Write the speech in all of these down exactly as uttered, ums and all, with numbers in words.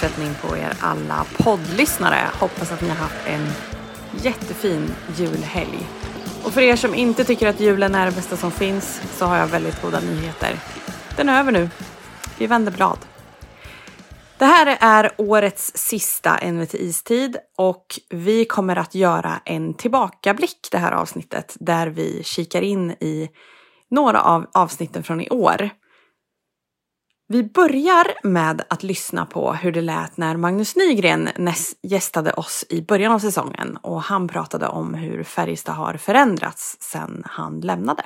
fortsättning på er alla poddlyssnare. Hoppas att ni har haft en jättefin julhelg. Och för er som inte tycker att julen är det bästa som finns så har jag väldigt goda nyheter. Den är över nu. Vi vänder blad. Det här är årets sista N V T Istid och vi kommer att göra en tillbakablick det här avsnittet där vi kikar in i några av avsnitten från i år. Vi börjar med att lyssna på hur det lät när Magnus Nygren gästade oss i början av säsongen och han pratade om hur Färjestad har förändrats sedan han lämnade.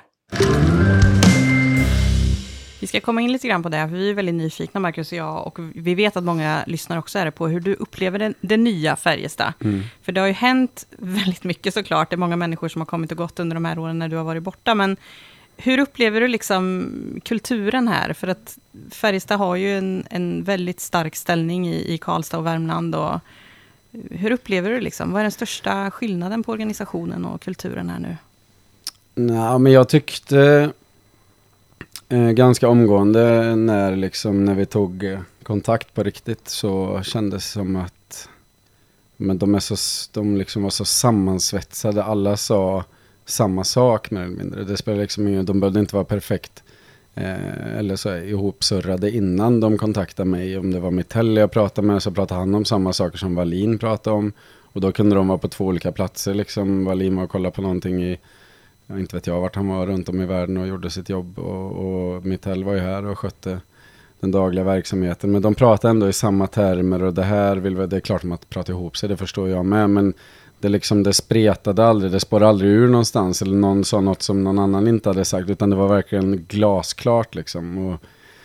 Vi ska komma in lite grann på det, för vi är väldigt nyfikna, Marcus och jag, och vi vet att många lyssnare också är det på hur du upplever den, den nya Färjestad. Mm. För det har ju hänt väldigt mycket såklart, det är många människor som har kommit och gått under de här åren när du har varit borta, men hur upplever du liksom kulturen här? För att Färjestad har ju en, en väldigt stark ställning i, i Karlstad och Värmland. Och hur upplever du liksom? Vad är den största skillnaden på organisationen och kulturen här nu? Nej, men jag tyckte eh, ganska omgående när, liksom, när vi tog eh, kontakt på riktigt så kändes det som att men de, är så, de liksom var så sammansvetsade. Alla sa samma sak mer eller mindre. Det spelar liksom ingen, de behövde inte vara perfekt eh, eller så ihopsurrade innan de kontaktade mig. Om det var Mitell jag pratade med så pratade han om samma saker som Wallin pratade om. Och då kunde de vara på två olika platser. Liksom Wallin var och kollade på någonting i, jag inte vet jag vart han var runt om i världen och gjorde sitt jobb. Och, och Mitell var ju här och skötte den dagliga verksamheten. Men de pratade ändå i samma termer och det här vill vi, det är klart om att prata ihop sig, det förstår jag med. Men det, liksom, det spretade aldrig, det spår aldrig ur någonstans eller någon sa något som någon annan inte hade sagt utan det var verkligen glasklart liksom. Och,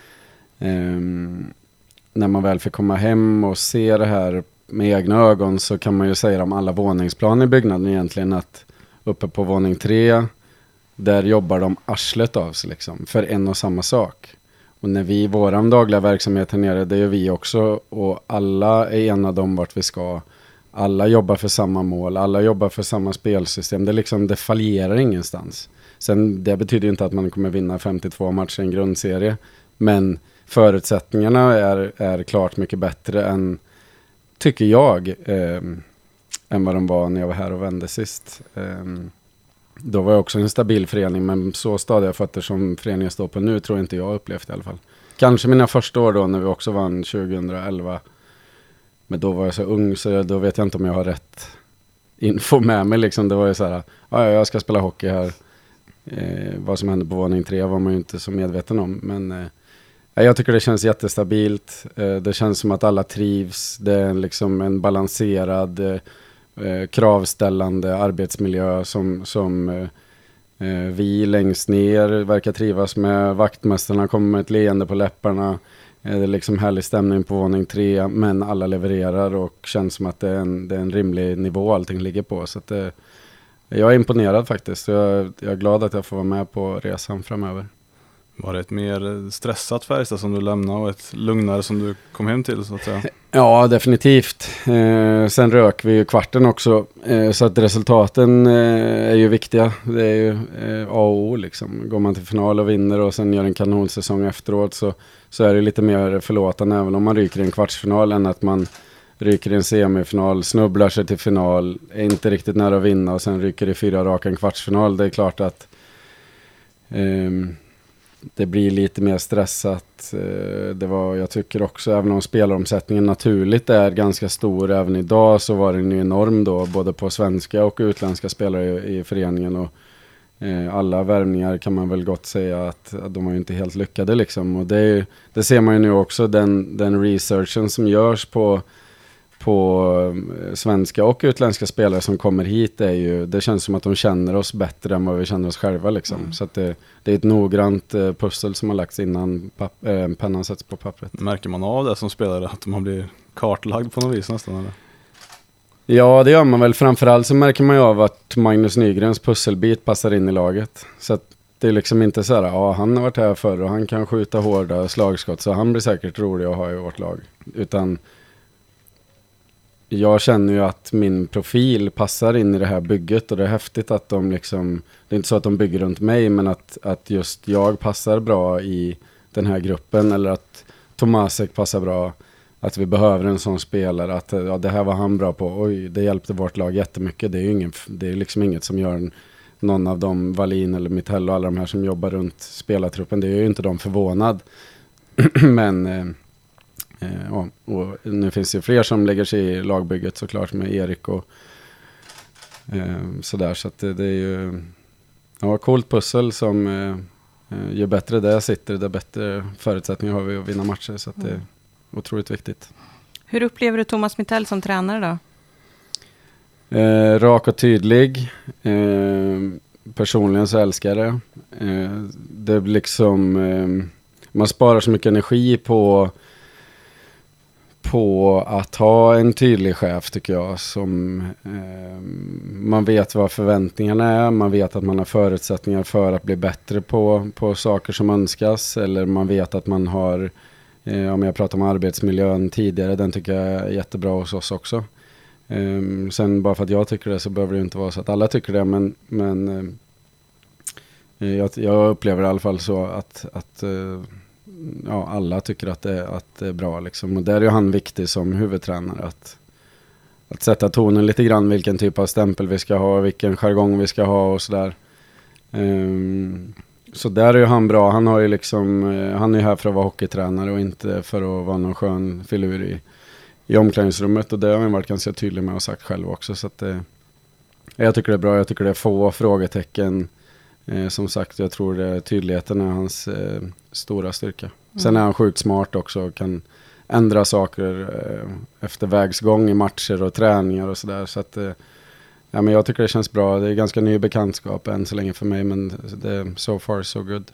ehm, när man väl fick komma hem och se det här med egna ögon så kan man ju säga om alla våningsplan i byggnaden egentligen att uppe på våning tre där jobbar de arslet av sig liksom, för en och samma sak. Och när vi i våran dagliga verksamhet här nere, det gör vi också och alla är enade om vart vi ska. Alla jobbar för samma mål, alla jobbar för samma spelsystem. Det, liksom, det fallerar ingenstans. Sen, det betyder inte att man kommer vinna femtiotvå matcher i en grundserie. Men förutsättningarna är, är klart mycket bättre än, tycker jag, eh, än vad de var när jag var här och vände sist. Eh, då var jag också en stabil förening, men så stadiga fötter som föreningen står på nu tror inte jag upplevt i alla fall. Kanske mina första år då när vi också vann tjugoelva. Men då var jag så ung så jag, då vet jag inte om jag har rätt info med mig. Liksom. Det var ju så här, ja jag ska spela hockey här. Eh, vad som hände på våning tre var man ju inte så medveten om. Men eh, jag tycker det känns jättestabilt. Eh, det känns som att alla trivs. Det är liksom en balanserad, eh, kravställande arbetsmiljö som, som eh, vi längst ner verkar trivas med. Vaktmästarna kommer med ett leende på läpparna. Det är liksom härlig stämning på våning tre, men alla levererar och känns som att det är en, det är en rimlig nivå allting ligger på. Så att det, jag är imponerad faktiskt. Jag, jag är glad att jag får vara med på resan framöver. Var det ett mer stressat Färjestad som du lämnade och ett lugnare som du kom hem till så att säga? Ja, definitivt. Eh, sen rök vi ju kvarten också. Eh, så att resultaten eh, är ju viktiga. Det är ju eh, A och O liksom. Går man till final och vinner och sen gör en kanonsäsong efteråt så, så är det lite mer förlåtande även om man ryker i en kvartsfinal än att man ryker i en semifinal, snubblar sig till final, är inte riktigt nära att vinna och sen ryker i fyra raka en kvartsfinal. Det är klart att eh, det blir lite mer stressat. Det var, jag tycker också, även om spelaromsättningen naturligt är ganska stor även idag så var den ju enorm då, både på svenska och utländska spelare i, i föreningen och eh, alla värvningar kan man väl gott säga att, att de var ju inte helt lyckade liksom. Och det, är, det ser man ju nu också, den, den researchen som görs på på svenska och utländska spelare som kommer hit är ju, det känns som att de känner oss bättre än vad vi känner oss själva liksom. Mm. Så att det, det är ett noggrant eh, pussel som har lagts innan papp, eh, pennan sätts på pappret. Märker man av det som spelare att man blir kartlagd på något vis nästan eller? Ja, det gör man väl. Framförallt så märker man ju av att Magnus Nygrens pusselbit passar in i laget. Så att det är liksom inte så här, ja han har varit här förr och han kan skjuta hårda slagskott så han blir säkert rolig att ha i vårt lag. Utan jag känner ju att min profil passar in i det här bygget och det är häftigt att de liksom, det är inte så att de bygger runt mig men att, att just jag passar bra i den här gruppen eller att Tomasek passar bra att vi behöver en sån spelare, att ja, det här var han bra på, oj, det hjälpte vårt lag jättemycket. Det är ju ingen, det är liksom inget som gör en, någon av dem, Wallin eller Mitell och alla de här som jobbar runt spelartruppen, det är ju inte de förvånad. Men eh, eh, ja, och nu finns det ju fler som lägger sig i lagbygget såklart, med Erik och eh, sådär, så att det, det är ju ja, coolt pussel som eh, ju bättre det sitter, det bättre förutsättningar har vi att vinna matcher, så att det är otroligt viktigt. Hur upplever du Thomas Mitell som tränare då? Eh, rak och tydlig. Eh, personligen så älskar jag det. Eh, det är liksom eh, man sparar så mycket energi på på att ha en tydlig chef, tycker jag, som eh, man vet vad förväntningarna är, man vet att man har förutsättningar för att bli bättre på, på saker som önskas, eller man vet att man har, eh, om jag pratar om arbetsmiljön tidigare, den tycker jag är jättebra hos oss också. Eh, sen bara för att jag tycker det så behöver det inte vara så att alla tycker det, men, men eh, jag, jag upplever i alla fall så att, att eh, ja, alla tycker att det, att det är bra liksom. Och där är ju han viktig som huvudtränare, att, att sätta tonen lite grann, vilken typ av stämpel vi ska ha, vilken jargong vi ska ha och sådär. Um, så där är ju han bra. Han har ju liksom, han är ju här för att vara hockeytränare och inte för att vara någon skön filur i, i omklädningsrummet, och det har han varit ganska tydlig med och sagt själv också, så att det, jag tycker det är bra. Jag tycker det är få frågetecken. Eh, som sagt, jag tror det, tydligheten är hans eh, stora styrka. Mm. Sen är han sjukt smart också och kan ändra saker eh, efter vägsgång i matcher och träningar och sådär. Så att, eh, ja, men jag tycker det känns bra. Det är ganska ny bekantskap än så länge för mig, men det är so far so good.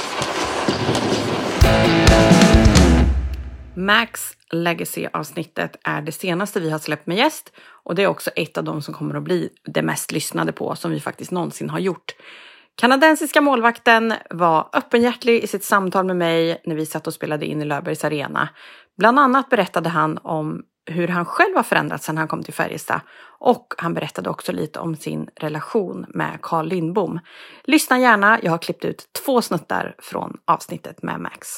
Max Legacy-avsnittet är det senaste vi har släppt med gäst, och det är också ett av dem som kommer att bli det mest lyssnade på som vi faktiskt någonsin har gjort. Kanadensiska målvakten var öppenhjärtig i sitt samtal med mig när vi satt och spelade in i Löfbergs Arena. Bland annat berättade han om hur han själv har förändrats sedan han kom till Färjestad, och han berättade också lite om sin relation med Carl Lindbom. Lyssna gärna, jag har klippt ut två snuttar från avsnittet med Max.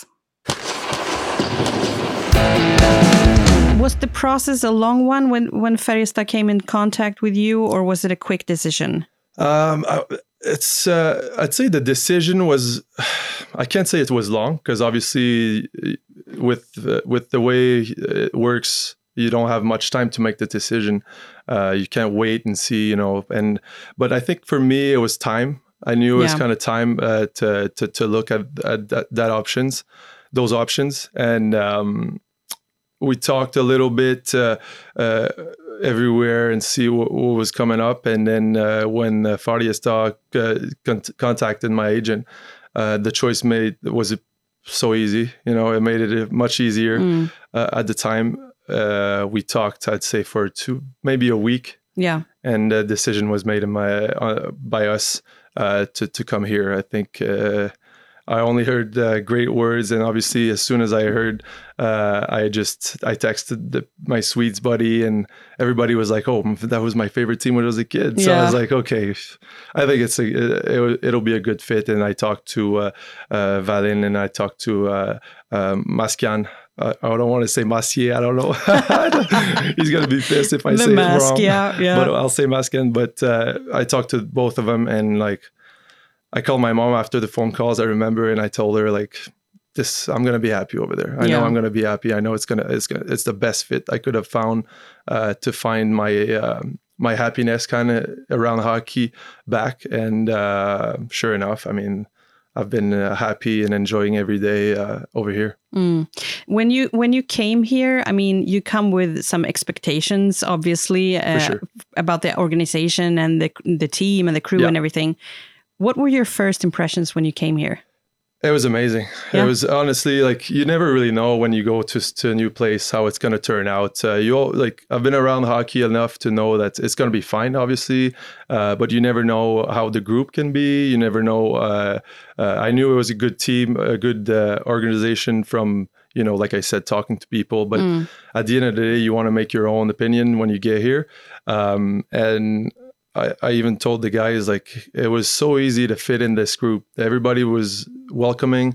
Was the process a long one when, when Färjestad came in contact with you, or was it a quick decision? Um, I, it's, uh, I'd say the decision was, I can't say it was long, because obviously with, uh, with the way it works, you don't have much time to make the decision. Uh, you can't wait and see, you know, and, but I think for me, it was time. I knew it was yeah. kind of time uh, to, to, to look at, at that, that options, those options. And, um, we talked a little bit uh, uh, everywhere and see what, what was coming up. And then uh, when uh, Färjestad uh, con- contacted my agent, uh, the choice made was so easy. You know, it made it much easier. Mm. Uh, at the time, uh, we talked, I'd say, for two, maybe a week. Yeah. And the decision was made in my, uh, by us uh, to, to come here. I think... Uh, I only heard uh, great words, and obviously, as soon as I heard, uh, I just I texted the, my Swedes buddy, and everybody was like, "Oh, that was my favorite team when I was a kid." So yeah. I was like, "Okay, I think it's a, it, it'll be a good fit." And I talked to uh, uh, Valin, and I talked to uh, uh, Maskian. Uh, I don't want to say Massier. I don't know. He's gonna be pissed if I the say mask, it wrong. Yeah, yeah. But I'll say Maskian. But uh, I talked to both of them, and like. I called my mom after the phone calls, I remember, and I told her, like, this, I'm going to be happy over there. I yeah. know I'm going to be happy. I know it's going to, it's going to, it's the best fit I could have found uh, to find my, uh, my happiness kind of around hockey back. And uh, sure enough, I mean, I've been uh, happy and enjoying every day uh, over here. Mm. When you when you came here, I mean, you come with some expectations, obviously, uh, sure. about the organization and the the team and the crew yeah. and everything. What were your first impressions when you came here? It was amazing. Yeah. It was honestly like you never really know when you go to to a new place how it's going to turn out. Uh, you all, like I've been around hockey enough to know that it's going to be fine, obviously, uh, but you never know how the group can be. You never know. Uh, uh, I knew it was a good team, a good uh, organization from, you know, like I said, talking to people. But mm. at the end of the day, you want to make your own opinion when you get here. Um, and I, I even told the guys, like, it was so easy to fit in this group. Everybody was welcoming,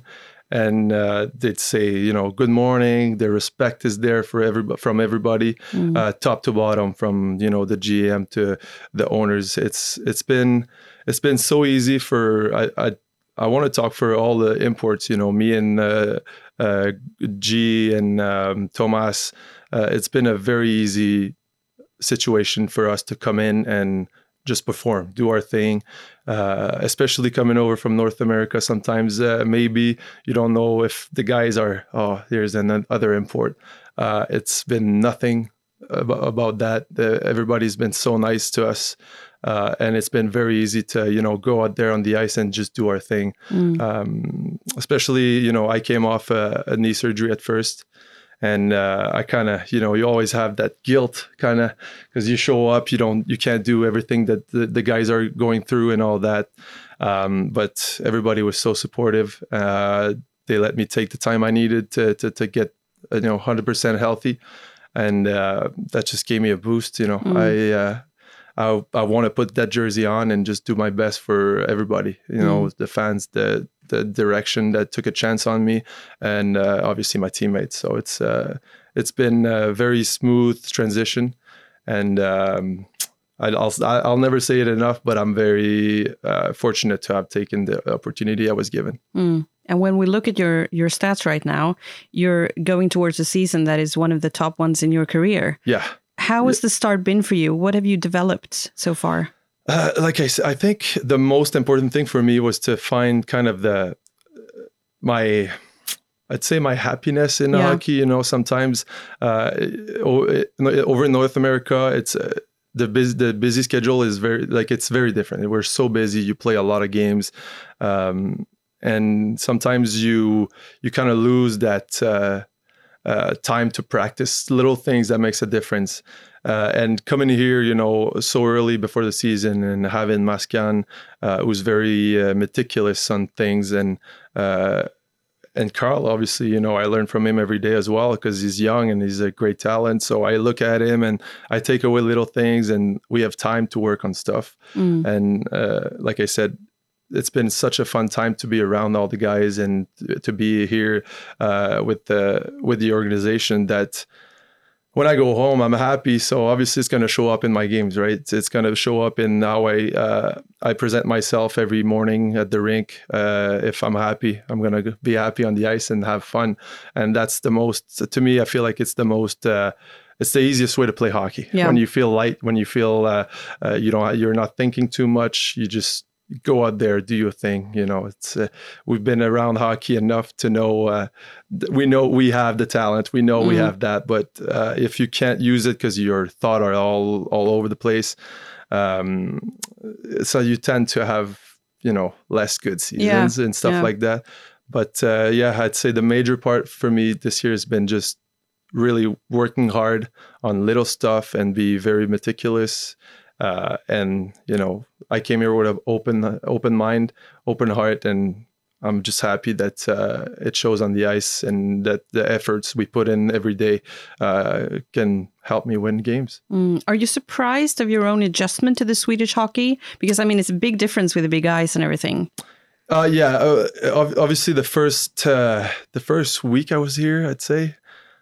and uh, they'd say, you know, good morning. The respect is there for every from everybody, mm. uh, top to bottom, from you know the G M to the owners. It's it's been it's been so easy for I I, I want to talk for all the imports. You know, me and uh, uh, G and um, Thomas. Uh, it's been a very easy situation for us to come in and just perform, do our thing, uh, especially coming over from North America. Sometimes uh, maybe you don't know if the guys are, oh, here's another import. Uh, it's been nothing about, about that. The, everybody's been so nice to us. Uh, and it's been very easy to, you know, go out there on the ice and just do our thing. Mm. Um, especially, you know, I came off a, a knee surgery at first. And uh, I kind of, you know, you always have that guilt kind of because you show up, you don't, you can't do everything that the, the guys are going through and all that. Um, but everybody was so supportive. Uh, they let me take the time I needed to to, to get, you know, one hundred percent healthy. And uh, that just gave me a boost, you know. Mm. I, uh, I I want to put that jersey on and just do my best for everybody, you know, mm. the fans, the the direction that took a chance on me, and uh, obviously my teammates. So it's uh, it's been a very smooth transition, and um, I'll I'll never say it enough, but I'm very uh, fortunate to have taken the opportunity I was given. Mm. And when we look at your your stats right now, you're going towards a season that is one of the top ones in your career. Yeah. How has the start been for you? What have you developed so far? Uh, like I said, I think the most important thing for me was to find kind of the, my, I'd say my happiness in yeah. hockey. You know, sometimes uh, over in North America, it's uh, the busy, the busy schedule is very, like, it's very different. We're so busy. You play a lot of games. Um, and sometimes you, you kind of lose that, uh, Uh, time to practice little things that makes a difference. Uh, and coming here, you know, so early before the season and having Mascan, uh, who's very uh, meticulous on things. And uh, and Carl, obviously, you know, I learn from him every day as well because he's young and he's a great talent. So I look at him and I take away little things and we have time to work on stuff. Mm. And uh, like I said, it's been such a fun time to be around all the guys and to be here uh, with the with the organization that when I go home, I'm happy. So obviously it's going to show up in my games, right? It's, it's going to show up in how I uh, I present myself every morning at the rink. Uh, if I'm happy, I'm going to be happy on the ice and have fun. And that's the most, to me, I feel like it's the most, uh, it's the easiest way to play hockey. Yeah. When you feel light, when you feel uh, uh, you don't, you're not thinking too much, you just go out there, do your thing. You know, it's uh, we've been around hockey enough to know uh, th- we know we have the talent, we know mm. we have that, but uh, if you can't use it because your thoughts are all all over the place, um, so you tend to have, you know, less good seasons yeah. and stuff yeah. like that. But uh, yeah, I'd say the major part for me this year has been just really working hard on little stuff and be very meticulous. Uh, and, you know, I came here with an open, open mind, open heart, and I'm just happy that uh, it shows on the ice and that the efforts we put in every day uh, can help me win games. Mm. Are you surprised of your own adjustment to the Swedish hockey? Because, I mean, it's a big difference with the big ice and everything. Uh, yeah, uh, obviously the first uh, the first week I was here, I'd say,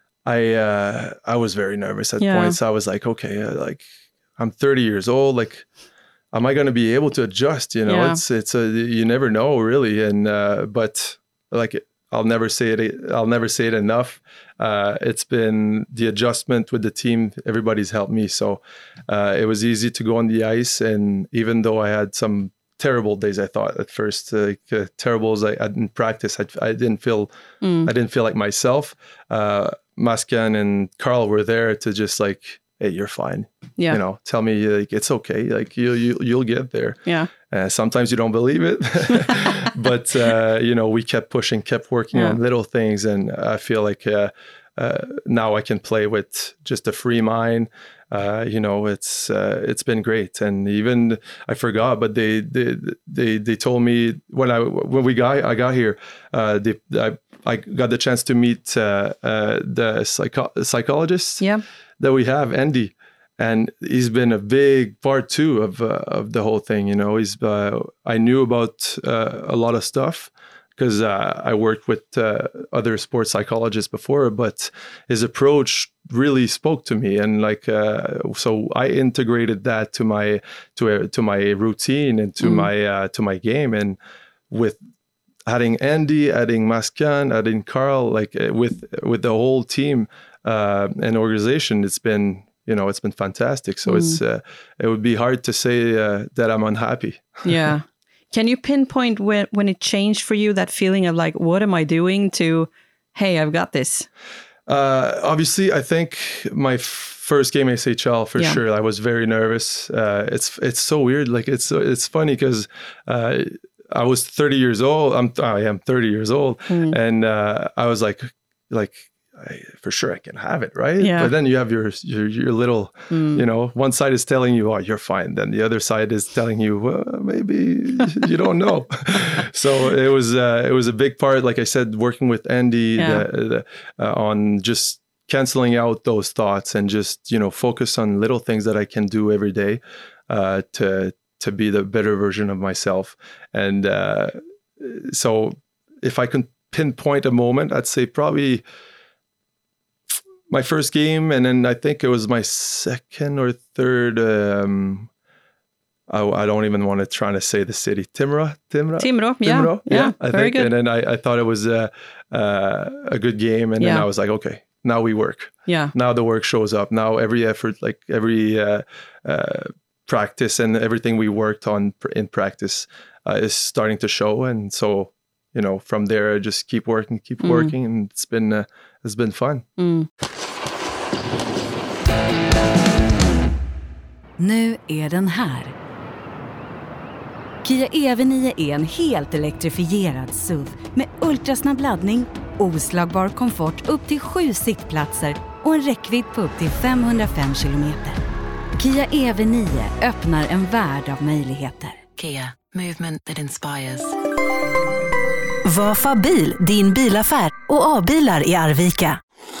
I uh, I was very nervous at yeah. points. I was like, okay, uh, like, I'm thirty years old. Like, am I going to be able to adjust? You know, yeah. it's it's a you never know really. And uh, but like I'll never say it. I'll never say it enough. Uh, it's been the adjustment with the team. Everybody's helped me, so uh, it was easy to go on the ice. And even though I had some terrible days, I thought at first, like uh, terrible as I, I didn't practice. I, I didn't feel mm. I didn't feel like myself. Uh, Mascan and Carl were there to just like, hey, you're fine. Yeah. You know, tell me like it's okay. Like you, you you'll get there. Yeah. Uh, sometimes you don't believe it, but uh, you know, we kept pushing, kept working yeah. on little things, and I feel like uh, uh, now I can play with just a free mind. Uh, you know, it's uh, it's been great, and even I forgot, but they they they they told me when I when we got I got here, uh, they, I I got the chance to meet uh, uh, the psycho- psychologist. Yeah. That we have, Andy, and he's been a big part too of uh, of the whole thing. You know, he's uh, I knew about uh, a lot of stuff because uh, I worked with uh, other sports psychologists before, but his approach really spoke to me, and like uh, so I integrated that to my to a, to my routine and to mm. my uh, to my game, and with adding Andy, adding Mascan, adding Carl, like uh, with with the whole team uh, and organization, it's been you know it's been fantastic. So mm. it's uh, it would be hard to say uh, that I'm unhappy. Yeah. Can you pinpoint when, when it changed for you, that feeling of like, what am I doing, to, hey, I've got this? Uh, obviously, I think my f- first game A S H L for yeah. sure. I was very nervous. Uh, it's it's so weird. Like it's it's funny because uh, I was thirty years old. I'm I am thirty years old, mm. and uh, I was like like. I, for sure I can have it, right? Yeah. But then you have your your, your little, mm. you know, one side is telling you, oh, you're fine. Then the other side is telling you, well, maybe you don't know. So it was uh, it was a big part, like I said, working with Andy yeah. the, the, uh, on just canceling out those thoughts and just, you know, focus on little things that I can do every day uh, to to be the better version of myself. And uh, so if I can pinpoint a moment, I'd say probably my first game, and then I think it was my second or third. Um, I, I don't even want to try to say the city. Timrå, Timrå, Timrå, yeah, Timrå, yeah, yeah. I very think, good. and then I, I thought it was a uh, a good game, and yeah. then I was like, okay, now we work. Yeah. Now the work shows up. Now every effort, like every uh, uh, practice and everything we worked on in practice, uh, is starting to show, and so you know from there I just keep working, keep mm. working, and it's been uh, it's been fun. Mm. Nu är den här. Kia E V nio är en helt elektrifierad S U V med ultrasnabb laddning, oslagbar komfort upp till sju sittplatser och en räckvidd på upp till femhundrafem kilometer. Kia E V nio öppnar en värld av möjligheter. Kia, movement that inspires. Vafa bil, din bilaffär och A-bilar i Arvika.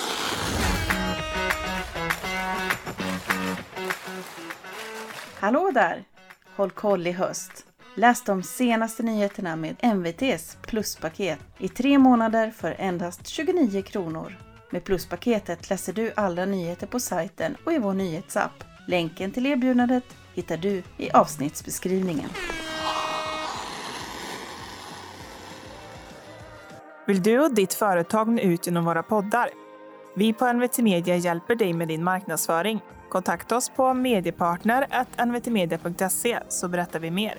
Hallå där! Håll koll i höst. Läs de senaste nyheterna med M V T:s pluspaket i tre månader för endast tjugonio kronor. Med pluspaketet läser du alla nyheter på sajten och i vår nyhetsapp. Länken till erbjudandet hittar du i avsnittsbeskrivningen. Vill du och ditt företag nå ut genom våra poddar? Vi på N V T Media hjälper dig med din marknadsföring. Kontakta oss på mediepartner at n v t media punkt se så berättar vi mer.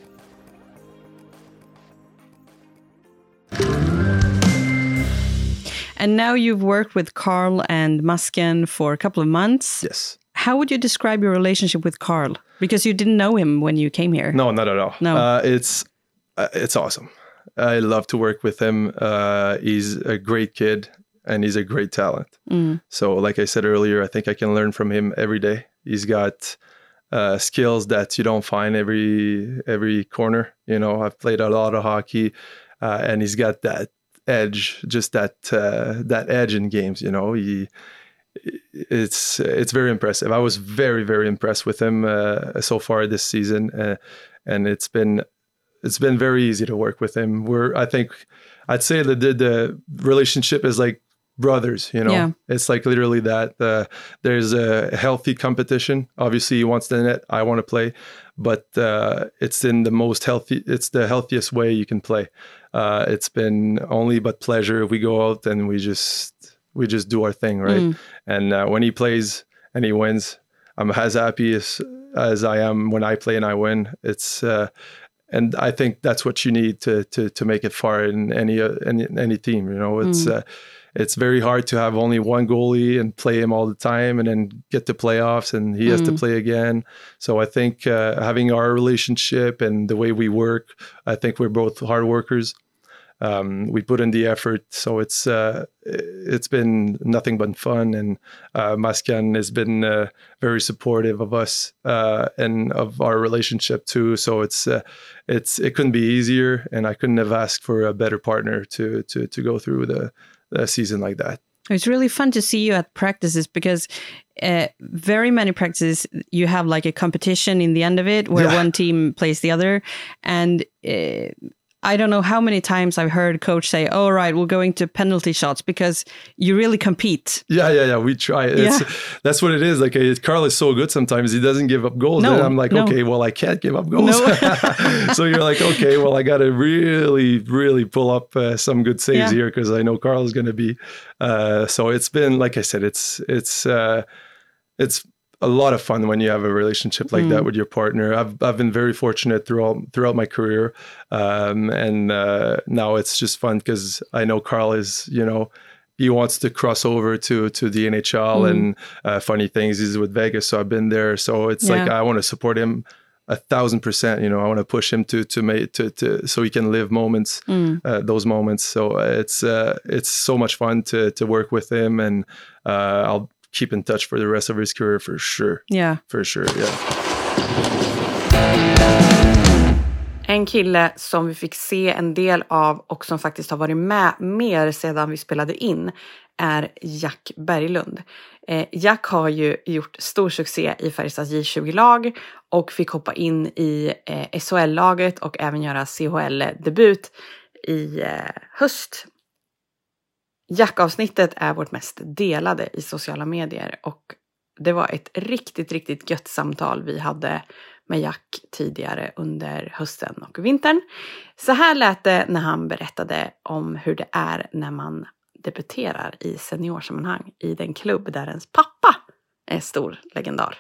And now you've worked with Carl and Mascan for a couple of months. Yes. How would you describe your relationship with Carl? Because you didn't know him when you came here. No, not at all. No. Uh, it's uh, it's awesome. I love to work with him. Uh, he's a great kid. And he's a great talent. Mm. So like I said earlier, I think I can learn from him every day. He's got uh, skills that you don't find every every corner. You know, I've played a lot of hockey, uh, and he's got that edge, just that uh, that edge in games. You know, he it's it's very impressive. I was very very impressed with him uh, so far this season, uh, and it's been it's been very easy to work with him. We're I think I'd say that the, the relationship is like brothers, you know. Yeah. It's like literally that. Uh, there's a healthy competition. Obviously, he wants the net. I want to play, but uh, it's in the most healthy. It's the healthiest way you can play. Uh, it's been only but pleasure. We go out and we just we just do our thing, right? Mm. And uh, when he plays and he wins, I'm as happy as as I am when I play and I win. It's uh, and I think that's what you need to to to make it far in any uh, any any team. You know, it's. Mm. Uh, It's very hard to have only one goalie and play him all the time and then get to playoffs and he has mm. to play again. So I think uh, having our relationship and the way we work, I think we're both hard workers. Um, we put in the effort. So it's uh, it's been nothing but fun. And uh, Mascan has been uh, very supportive of us uh, and of our relationship too. So it's uh, it's it couldn't be easier, and I couldn't have asked for a better partner to to to go through the a season like that. It's really fun to see you at practices because uh, very many practices you have like a competition in the end of it where yeah. one team plays the other, and uh, I don't know how many times I've heard coach say, all right, we're going to penalty shots because you really compete. Yeah, yeah, yeah. We try. It's, Yeah. That's what it is. Like uh, Carl is so good sometimes. He doesn't give up goals. No, and I'm like, no. okay, well, I can't give up goals. No. So you're like, okay, well, I got to really, really pull up uh, some good saves Yeah. here because I know Carl is going to be. Uh, so it's been, like I said, it's, it's, uh, it's, a lot of fun when you have a relationship like Mm. that with your partner. I've I've been very fortunate throughout throughout my career, um, and uh, now it's just fun because I know Carl is, you know, he wants to cross over to to the N H L, Mm. and uh, funny things, he's with Vegas, so I've been there. So it's like Yeah. I want to support him a thousand percent. You know, I want to push him to to make to to so he can live moments, Mm. uh, those moments. So it's uh, it's so much fun to to work with him, and uh, I'll keep in touch for the rest of his career for sure. Yeah. For sure, yeah. En kille som vi fick se en del av och som faktiskt har varit med mer sedan vi spelade in är Jack Berglund. Eh, Jack har ju gjort stor succé i Färjestads J tjugo-lag och fick hoppa in i eh, S H L-laget och även göra C H L-debut i eh, höst. Jack-avsnittet är vårt mest delade i sociala medier och det var ett riktigt, riktigt gött samtal vi hade med Jack tidigare under hösten och vintern. Så här lät det när han berättade om hur det är när man debuterar i seniorsammanhang i den klubb där ens pappa är stor legendar.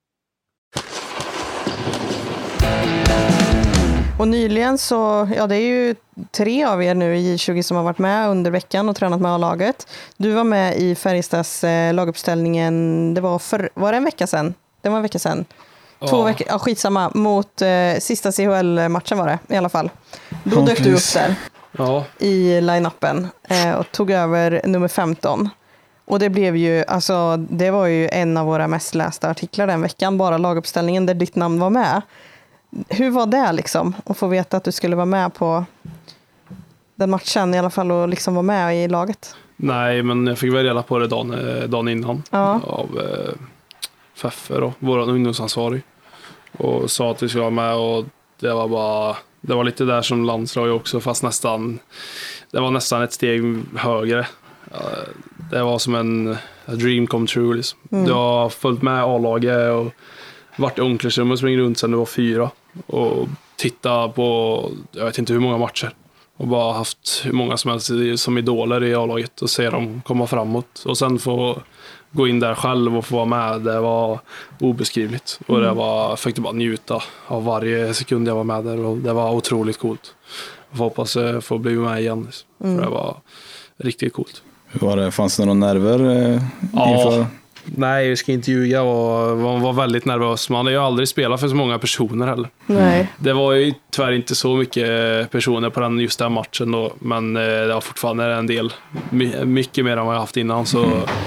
Och nyligen så, ja det är ju tre av er nu i J tjugo som har varit med under veckan och tränat med A-laget. Du var med i Färjestads eh, laguppställningen, det var, för, var det en vecka sedan? Det var en vecka sedan. Två Ja. veckor, ja skitsamma, mot eh, sista C H L-matchen var det i alla fall. Då Ja, dök du precis. upp där Ja, i line-upen eh, och tog över nummer femton. Och det blev ju, alltså det var ju en av våra mest lästa artiklar den veckan, bara laguppställningen där ditt namn var med. Hur var det liksom att få veta att du skulle vara med på den matchen i alla fall och liksom vara med i laget? nej, men jag fick väl reda på det dagen, eh, dagen innan Ja. av eh, Feffe då, vår ungdomsansvarig, och sa att vi skulle vara med, och det var bara, det var lite där som landslag också, fast nästan, det var nästan ett steg högre. Eh, Det var som en a dream come true liksom. Mm. Jag har följt med A-laget och varit i omklädningsrummet och springt runt sedan det var fyra och titta på, jag vet inte hur många matcher, och bara haft hur många som helst i- som idoler i A-laget och se dem komma framåt, och sen få gå in där själv och få vara med, det var obeskrivligt, och det var, jag fick bara njuta av varje sekund jag var med där, och det var otroligt coolt. Jag får hoppas jag får bli med igen liksom. Mm. För det var riktigt coolt. Hur var det? Fanns det några nerver eh, Ja. inför? Nej, jag ska inte ljuga. Jag var, var väldigt nervös. Man har ju aldrig spelat för så många personer heller. Nej. Det var ju tyvärr inte så mycket personer på den, just den matchen då, men eh, det var fortfarande en del. My, mycket mer än vad jag haft innan, så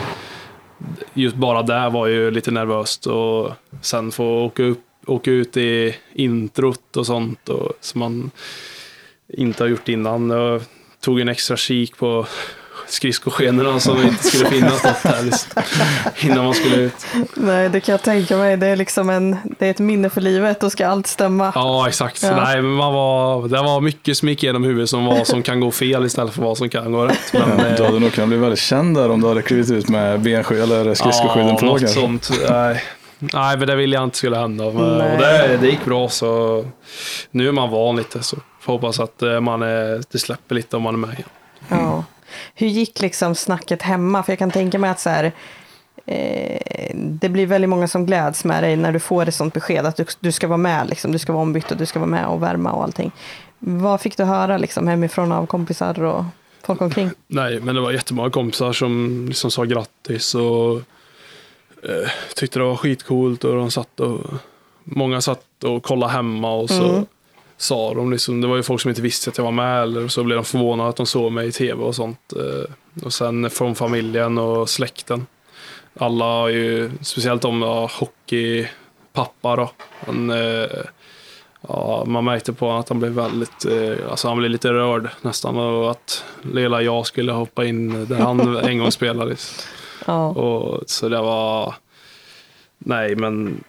just bara där var ju lite nervöst, och sen få åka, upp, åka ut i introt och sånt och, som man inte har gjort innan. Jag tog en extra kik på skridskoskenorna som inte skulle finnas något här liksom, innan man skulle ut. Nej, det kan jag tänka mig. Det är liksom en, det är ett minne för livet, då ska allt stämma. Ja, exakt. Ja. Nej, men man var, det var mycket som gick genom huvudet som vad som kan gå fel istället för vad som kan gå rätt. Men, Ja, du hade nog kunnat bli väldigt känd där om du hade klivit ut med benskydd eller skridskoskydden ja, på. något kanske. sånt. Nej. Nej, men det ville jag inte skulle hända. Men, Nej. och det, det gick bra, så nu är man van lite, så får hoppas att eh, man är, det släpper lite om man är med igen. Ja. Hur gick liksom snacket hemma? För jag kan tänka mig att så här, eh, det blir väldigt många som gläds med dig när du får ett sånt besked att du, du ska vara med, liksom, du ska vara ombytt och du ska vara med och värma och allting. Vad fick du höra liksom, hemifrån av kompisar och folk omkring? Nej, men det var jättemånga kompisar som liksom sa grattis och eh, tyckte det var skitcoolt, och de satt och många satt och kollade hemma, och så Mm. sa de liksom, det var ju folk som inte visste att jag var med, eller så blev de förvånade att de såg mig i tv och sånt. Eh, och sen från familjen och släkten. Alla har ju, speciellt om jag hockeypappa då. Han, eh, ja, man märkte på att han blev väldigt, eh, alltså han blev lite rörd nästan, och att lilla jag skulle hoppa in där han en gång spelade. Ja. Och så det var, nej men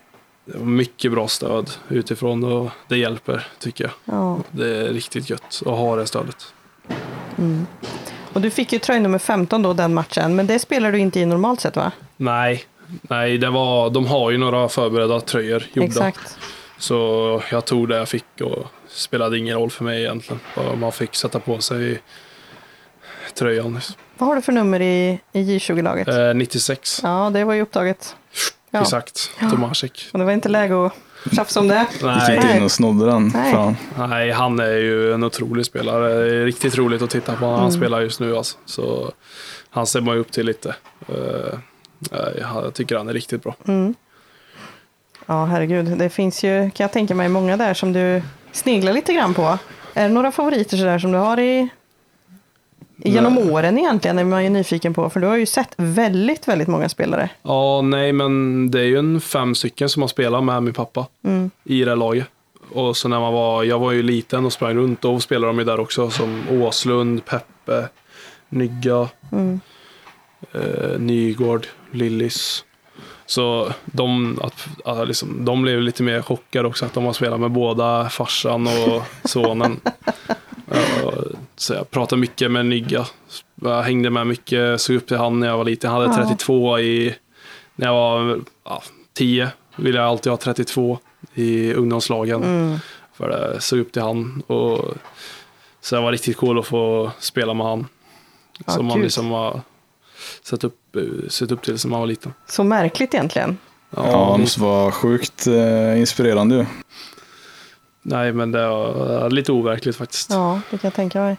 det var mycket bra stöd utifrån och det hjälper tycker jag. Ja. Det är riktigt gött att ha det stödet. Mm. Och du fick ju tröja nummer femton då den matchen, men det spelar du inte i normalt sett va? Nej, nej det var, de har ju några förberedda tröjor gjorda. Exakt. Så jag tog det jag fick och spelade ingen roll för mig egentligen. Bara man fick sätta på sig tröjan. Vad har du för nummer i, i J tjugo-laget? Eh, nittiosex. Ja, det var ju upptaget. Ja. Exakt, Tomasik. Och det var inte läge att tjafsa om det. Nej. Gick inte in och snodde den. Nej. Fan. Nej, han är ju en otrolig spelare. Det är riktigt roligt att titta på när han Mm. spelar just nu. Alltså. Så han ser man ju upp till lite. Uh, jag tycker han är riktigt bra. Mm. Ja, herregud. Det finns ju, kan jag tänka mig, många där som du sneglar lite grann på. Är det några favoriter så där som du har i genom Nej. åren egentligen är man ju nyfiken på? För du har ju sett väldigt, väldigt många spelare. Ja, nej, men det är ju en fem stycken som har spelat med min pappa Mm. i det laget. Och så när man var, jag var ju liten och sprang runt och spelade de ju där också som Åslund, Peppe, Nygga, Mm. eh, Nygård, Lillis. Så de, att, att liksom, de blev lite mer chockade också att de har spelat med båda farsan och sonen. Uh, så jag pratade mycket med Nygga. Jag hängde med mycket, såg upp till han när jag var liten. Jag hade Ja. trettiotvå i, när jag var ja, tio ville jag alltid ha trettiotvå i ungdomslagen. Mm. För det såg upp till han. Och, så det var riktigt cool att få spela med han. Ja, som man gud. liksom har sett upp, sett upp till som man var liten. Så märkligt egentligen. Ja, Ja, det måste vara sjukt eh, inspirerande ju. nej, men det är lite overkligt faktiskt. Ja, det kan jag tänka mig.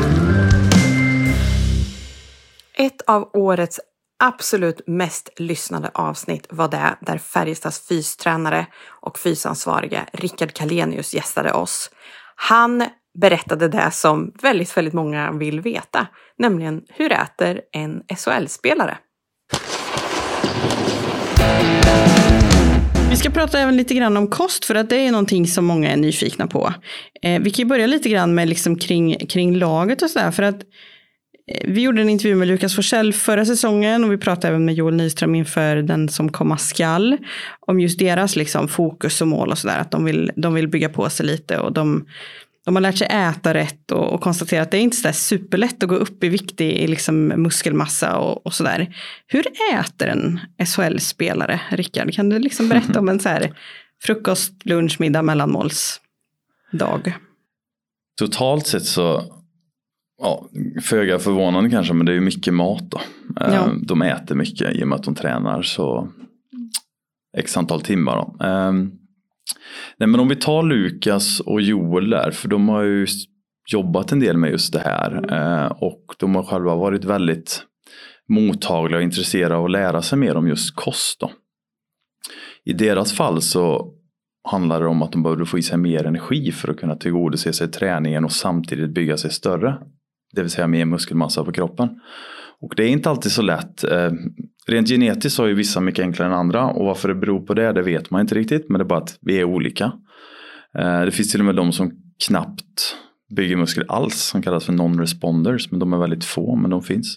Ett av årets absolut mest lyssnade avsnitt var det där Färjestads fystränare och fysansvariga Rickard Kalenius gästade oss. Han berättade det som väldigt, väldigt många vill veta, nämligen hur äter en S H L-spelare? Vi ska prata även lite grann om kost för att det är någonting som många är nyfikna på. Eh, vi kan ju börja lite grann med liksom kring, kring laget och sådär för att eh, vi gjorde en intervju med Lukas Forsell förra säsongen och vi pratade även med Joel Nyström inför den som komma skall om just deras liksom fokus och mål och sådär, att de vill, de vill bygga på sig lite och de, de har lärt sig äta rätt och, och konstatera att det är inte så där superlätt att gå upp i vikt i liksom muskelmassa och, och sådär. Hur äter en S H L-spelare, Rickard? Kan du liksom berätta om en så här frukost, lunch, middag, mellanmålsdag? Totalt sett så, ja, föga förvånande kanske, men det är ju mycket mat då. Ja. De äter mycket i och med att de tränar så x antal timmar då. Nej, men om vi tar Lukas och Joel där, för de har ju jobbat en del med just det här och de har själva varit väldigt mottagliga och intresserade av att lära sig mer om just kost då. I deras fall så handlar det om att de behöver få i sig mer energi för att kunna tillgodose sig träningen och samtidigt bygga sig större. Det vill säga mer muskelmassa på kroppen. Och det är inte alltid så lätt. Rent genetiskt så är ju vissa mycket enklare än andra. Och varför det beror på det, det vet man inte riktigt. Men det är bara att vi är olika. Det finns till och med de som knappt bygger muskler alls. Som kallas för non-responders. Men de är väldigt få, men de finns.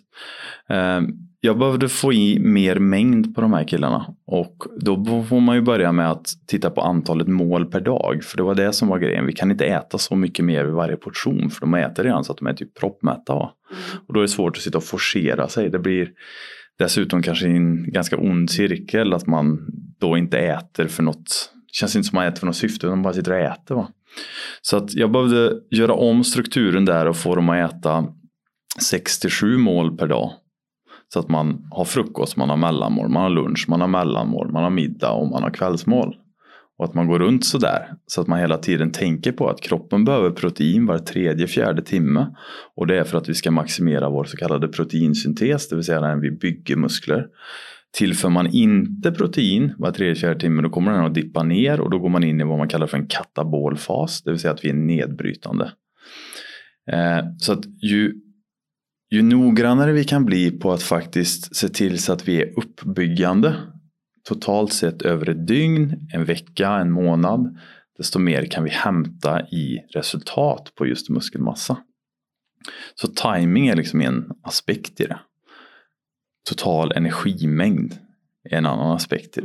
Jag behövde få i mer mängd på de här killarna. Och då får man ju börja med att titta på antalet mål per dag. För det var det som var grejen. Vi kan inte äta så mycket mer vid varje portion. För de äter redan så att de är typ proppmätta. Mm. Och då är det svårt att sitta och forcera sig. Det blir dessutom kanske en ganska ond cirkel. Att man då inte äter för något. Det känns inte som man äter för något syfte. Utan bara sitter och äter, va? Så att jag behövde göra om strukturen där. Och få dem att äta sex till sju mål per dag. Så att man har frukost, man har mellanmål, man har lunch, man har mellanmål, man har middag och man har kvällsmål. Och att man går runt så där. Så att man hela tiden tänker på att kroppen behöver protein var tredje, fjärde timme. Och det är för att vi ska maximera vår så kallade proteinsyntes. Det vill säga när vi bygger muskler. Tillför man inte protein var tredje, fjärde timme, då kommer den att dippa ner. Och då går man in i vad man kallar för en katabolfas. Det vill säga att vi är nedbrytande. Eh, så att ju... Ju noggrannare vi kan bli på att faktiskt se till så att vi är uppbyggande totalt sett över ett dygn, en vecka, en månad, desto mer kan vi hämta i resultat på just muskelmassa. Så timing är liksom en aspekt i det. Total energimängd är en annan aspekt i det.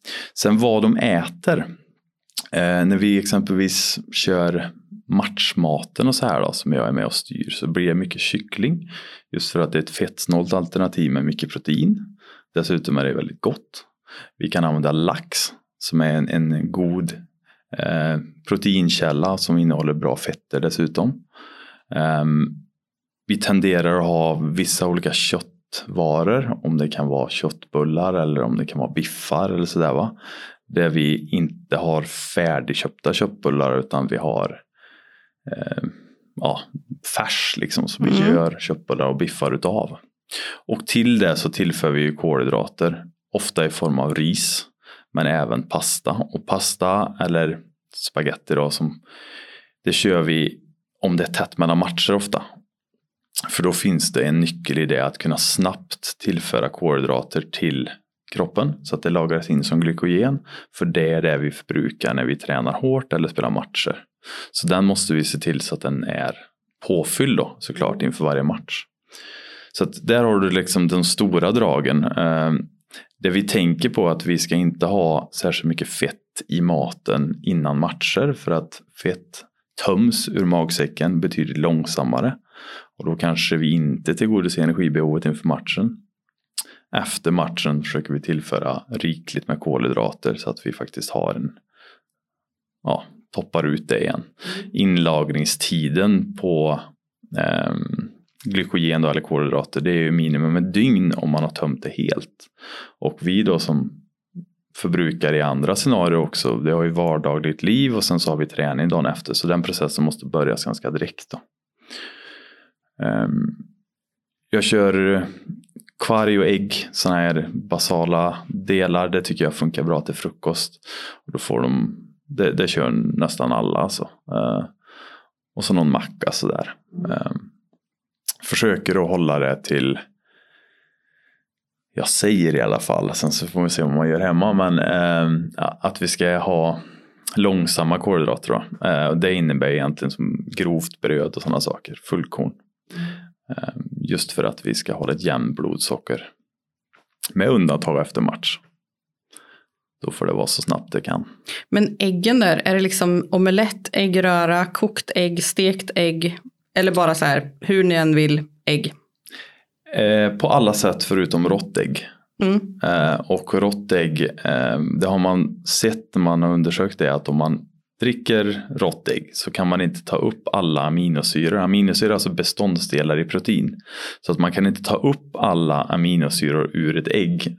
Sen vad de äter. Eh, när vi exempelvis kör matchmaten och så här då, som jag är med och styr, så blir det mycket kyckling. Just för att det är ett fettsnålt alternativ med mycket protein. Dessutom är det väldigt gott. Vi kan använda lax som är en, en god eh, proteinkälla som innehåller bra fetter dessutom. Eh, vi tenderar att ha vissa olika köttvaror, om det kan vara köttbullar eller om det kan vara biffar eller sådär va. Där vi inte har färdigköpta köttbullar utan vi har eh, ja, färs liksom som vi mm. gör köttbullar och biffar utav. Och till det så tillför vi ju kolhydrater, ofta i form av ris men även pasta. Och pasta eller spaghetti då, som det kör vi om det är tätt mellan matcher ofta. För då finns det en nyckel i det att kunna snabbt tillföra kolhydrater till kroppen så att det lagras in som glykogen, för det är det vi förbrukar när vi tränar hårt eller spelar matcher. Så den måste vi se till så att den är påfylld då, såklart inför varje match. Så att där har du liksom de stora dragen. Eh, det vi tänker på att vi ska inte ha särskilt mycket fett i maten innan matcher, för att fett töms ur magsäcken betydligt långsammare. Och då kanske vi inte tillgodoser energibehovet inför matchen. Efter matchen försöker vi tillföra rikligt med kolhydrater så att vi faktiskt har en, ja, toppar ut det igen. Inlagringstiden på eh, glykogen då, eller kolhydrater, det är ju minimum ett dygn om man har tömt det helt. Och vi då som förbrukar i andra scenarier också, det har ju vardagligt liv och sen så har vi träning dagen efter, så den processen måste börjas ganska direkt då. Um, jag kör kvarg och ägg, såna här basala delar, det tycker jag funkar bra till frukost. Och då får de, det, det kör nästan alla alltså. Uh, och så någon macka sådär. Uh, försöker att hålla det till, jag säger i alla fall, sen så får vi se vad man gör hemma, men uh, att vi ska ha långsamma kolhydrater då. Uh, det innebär egentligen som grovt bröd och sådana saker, fullkorn. Just för att vi ska hålla ett jämnt blodsocker. Med undantag efter match. Då får det vara så snabbt det kan. Men äggen där, är det liksom omelett, äggröra, kokt ägg, stekt ägg? Eller bara så här, hur ni än vill, ägg? Eh, på alla sätt förutom råttägg. Mm. Eh, och råttägg, eh, det har man sett när man har undersökt det, att om man dricker råttägg så kan man inte ta upp alla aminosyror. Aminosyror är alltså beståndsdelar i protein. Så att man kan inte ta upp alla aminosyror ur ett ägg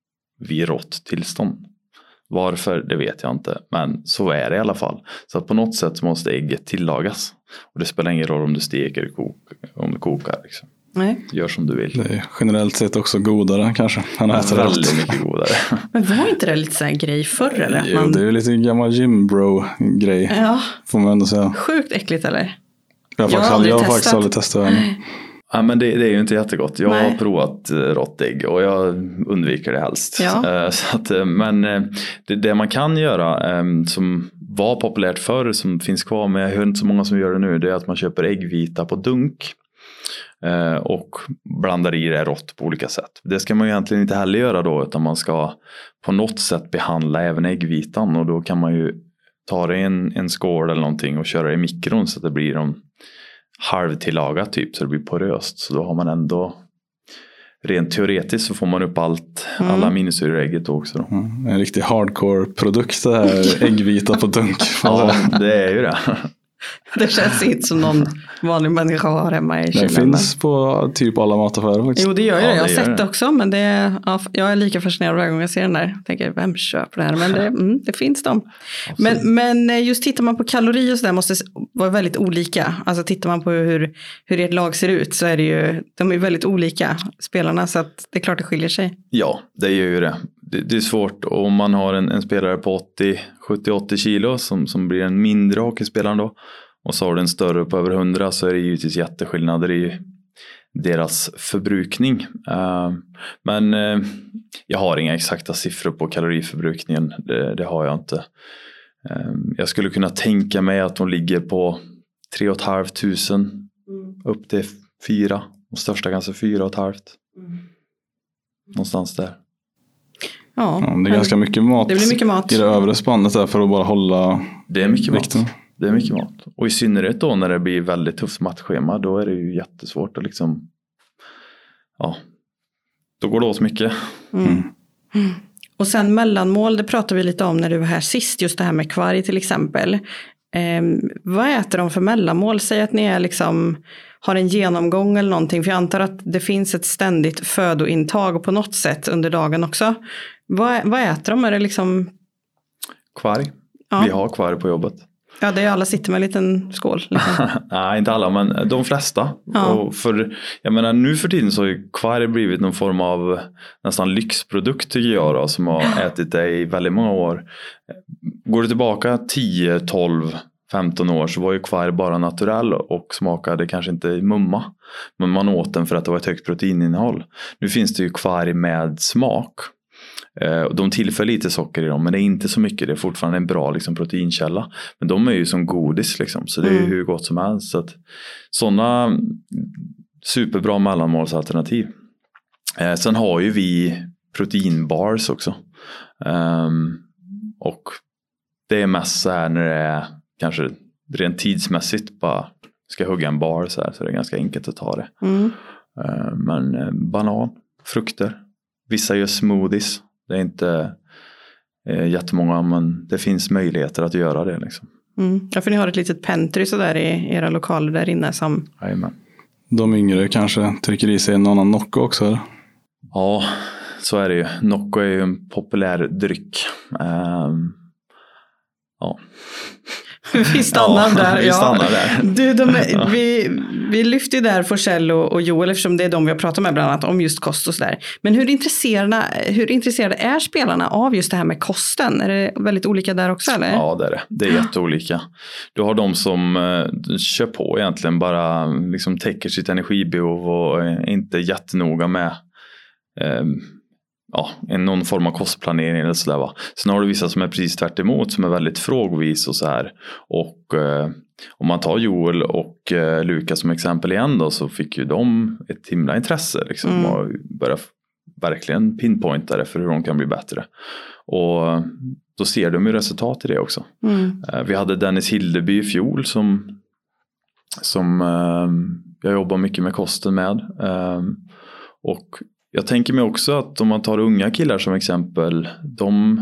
vid rått tillstånd. Varför, det vet jag inte. Men så är det i alla fall. Så att på något sätt måste ägget tillagas. Och det spelar ingen roll om du steker eller kok, om du kokar. Liksom. Nej. Gör som du vill. Det är generellt sett också godare kanske. Han ja, äter väldigt mycket godare. Men var inte det lite sån här grej förr eller? Jo, man... det är ju lite gammal gym bro grej. Ja. Får man ändå säga. Sjukt äckligt eller? Jag har faktiskt, jag aldrig, jag har faktiskt aldrig testat det. Ja, men det, det är ju inte jättegott. Jag Nej. har provat uh, råttägg och jag undviker det helst. Ja. Uh, så att, uh, men uh, det, det man kan göra um, som var populärt förr, som finns kvar, men jag hör inte så många som gör det nu, det är att man köper äggvita på dunk. Uh, och blandar i det rått på olika sätt. Det ska man ju egentligen inte heller göra då, utan man ska på något sätt behandla även äggvitan, och då kan man ju ta det i en, en skål eller någonting och köra det i mikron så att det blir en halvtillagat typ, så det blir poröst. Så då har man ändå, rent teoretiskt så får man upp allt, mm. alla aminosyror i ägget också då. Mm, en riktig hardcore produkt det här, äggvita på dunk. Ja, det är ju det. Det känns inte som någon vanlig människa har hemma i kylen. Det finns på typ alla mataffärer faktiskt. Jo, det gör ju ja, det. Jag har det sett det också, men det, ja, jag är lika fascinerad varje gång jag ser den där. Jag tänker, vem köper det här? Men det, mm, det finns de. Men, men just tittar man på kalorier och så där måste vara väldigt olika. Alltså tittar man på hur, hur ert lag ser ut så är det ju, de är väldigt olika spelarna, så att det är klart det skiljer sig. Ja, det gör ju det. Det, det är svårt om man har en, en spelare på åttio, sjuttio åttio kilo som, som blir en mindre hockeyspelare då. Och så har du en större på över hundra, så är det givetvis jätteskillnader i deras förbrukning. Uh, men uh, jag har inga exakta siffror på kaloriförbrukningen. Det, det har jag inte. Uh, jag skulle kunna tänka mig att de ligger på tre och ett halvt tusen mm. upp till fyra. Och största kanske fyra och ett halvt. Mm. Någonstans där. Ja, ja, det är ganska mycket mat, det blir mycket mat i det övre spannet där för att bara hålla det är mycket vikten. mat. Det är mycket mat. Och i synnerhet då när det blir väldigt tufft matchschema, då är det ju jättesvårt att liksom, ja, då går det åt mycket. Mm. Mm. Och sen mellanmål, det pratade vi lite om när du var här sist, just det här med kvarg till exempel. Eh, vad äter de för mellanmål? Säg att ni är liksom, har en genomgång eller någonting, för jag antar att det finns ett ständigt födointag på något sätt under dagen också. Vad, vad äter de? Är det liksom... Kvarg. Ja. Vi har kvarg på jobbet. Ja, det är alla sitter med en liten skål. Liksom. Nej, inte alla, men de flesta. Ja. Och för, jag menar, nu för tiden så har ju kvarg blivit någon form av nästan lyxprodukt tycker jag då, som har ätit det i väldigt många år. Går du tillbaka tio, tolv, femton år så var ju kvarg bara naturell och smakade kanske inte mumma. Men man åt den för att det var ett högt proteininnehåll. Nu finns det ju kvarg med smak. De tillför lite socker i dem, men det är inte så mycket. Det är fortfarande en bra liksom, proteinkälla. Men de är ju som godis liksom, så det är ju mm. hur gott som helst. Så att, sådana superbra mellanmålsalternativ. Eh, sen har ju vi proteinbars också. Um, och det är mest så här när det är kanske rent tidsmässigt bara ska hugga en bar så här, så det är ganska enkelt att ta det. Mm. Uh, men uh, banan, frukter. Vissa gör smoothies. Det är inte eh, jättemånga, men det finns möjligheter att göra det. Liksom. Mm. Ja, för ni har ett litet pantry så där i era lokaler där inne som... Jajamän. De yngre kanske trycker i sig en annan Nocco också, eller? Ja, så är det ju. Nocco är ju en populär dryck. Um, ja... Vi stannar ja, där. Vi stannar ja. där. Du, de är, ja. vi, vi lyfter ju där Forsell och, och Joel eftersom det är de vi har pratat med bland annat om just kost och sådär. Men hur intresserade, hur intresserade är spelarna av just det här med kosten? Är det väldigt olika där också eller? Ja, det är det. Det är jätteolika. Du har de som eh, kör på egentligen bara liksom täcker sitt energibehov och är inte jättenoga med eh, ja, en någon form av kostplanering eller sådär va. Sen har du vissa som är precis tvärt emot, som är väldigt frågvis och så här. Och eh, om man tar Joel och eh, Lukas som exempel igen då, så fick ju de ett himla intresse liksom, mm. och börja verkligen pinpointa det för hur de kan bli bättre. Och då ser de ju resultat i det också. Mm. Eh, vi hade Dennis Hildeby i fjol som, som eh, jag jobbar mycket med kosten med. Eh, och jag tänker mig också att om man tar unga killar som exempel, de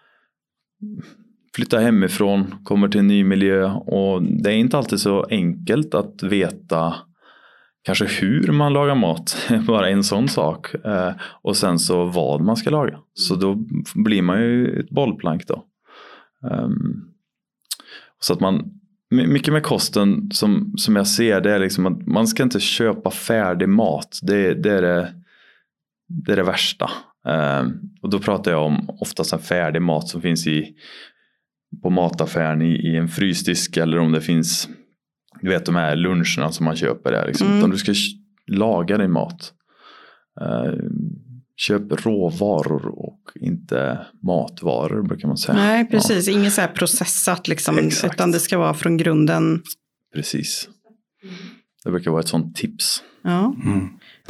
flyttar hemifrån, kommer till en ny miljö och det är inte alltid så enkelt att veta kanske hur man lagar mat, bara en sån sak, eh, och sen så vad man ska laga. Så då blir man ju ett bollplank då. Um, så att man, mycket med kosten som, som jag ser, det är liksom att man ska inte köpa färdig mat, det, det är det Det är det värsta. Um, och då pratar jag om oftast en färdig mat som finns i, på mataffären i, i en frysdisk. Eller om det finns, du vet de här luncherna som man köper där. Liksom. Mm. Utan du ska laga din mat. Uh, köp råvaror och inte matvaror brukar man säga. Nej, precis. Ja. Inget så här processat liksom. Exakt. Utan det ska vara från grunden. Precis. Det brukar vara ett sånt tips. Ja. Mm.